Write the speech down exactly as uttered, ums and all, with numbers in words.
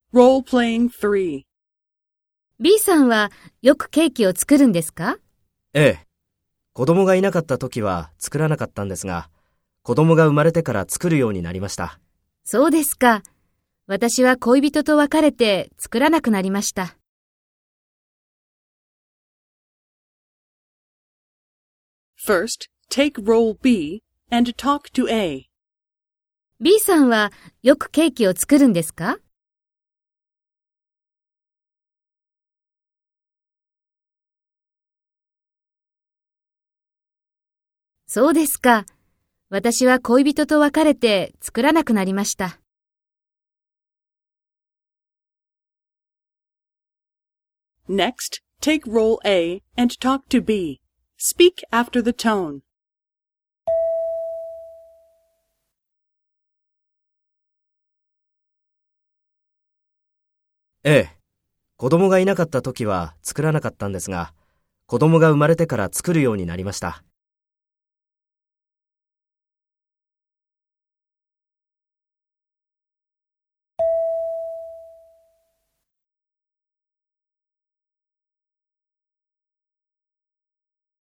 Role-playing three. B さんはよくケーキを作るんですか？ ええ。子供がいなかった時は作らなかったんですが、子供が生まれてから作るようになりました。 そうですか。私は恋人と別れて作らなくなりました。 First, take role B and talk to A. B さんはよくケーキを作るんですか？そうですか。私は恋人と別れて作らなくなりました。 Next, take role A and talk to B. Speak after the tone. ええ。子供がいなかった時は作らなかったんですが、子供が生まれてから作るようになりました。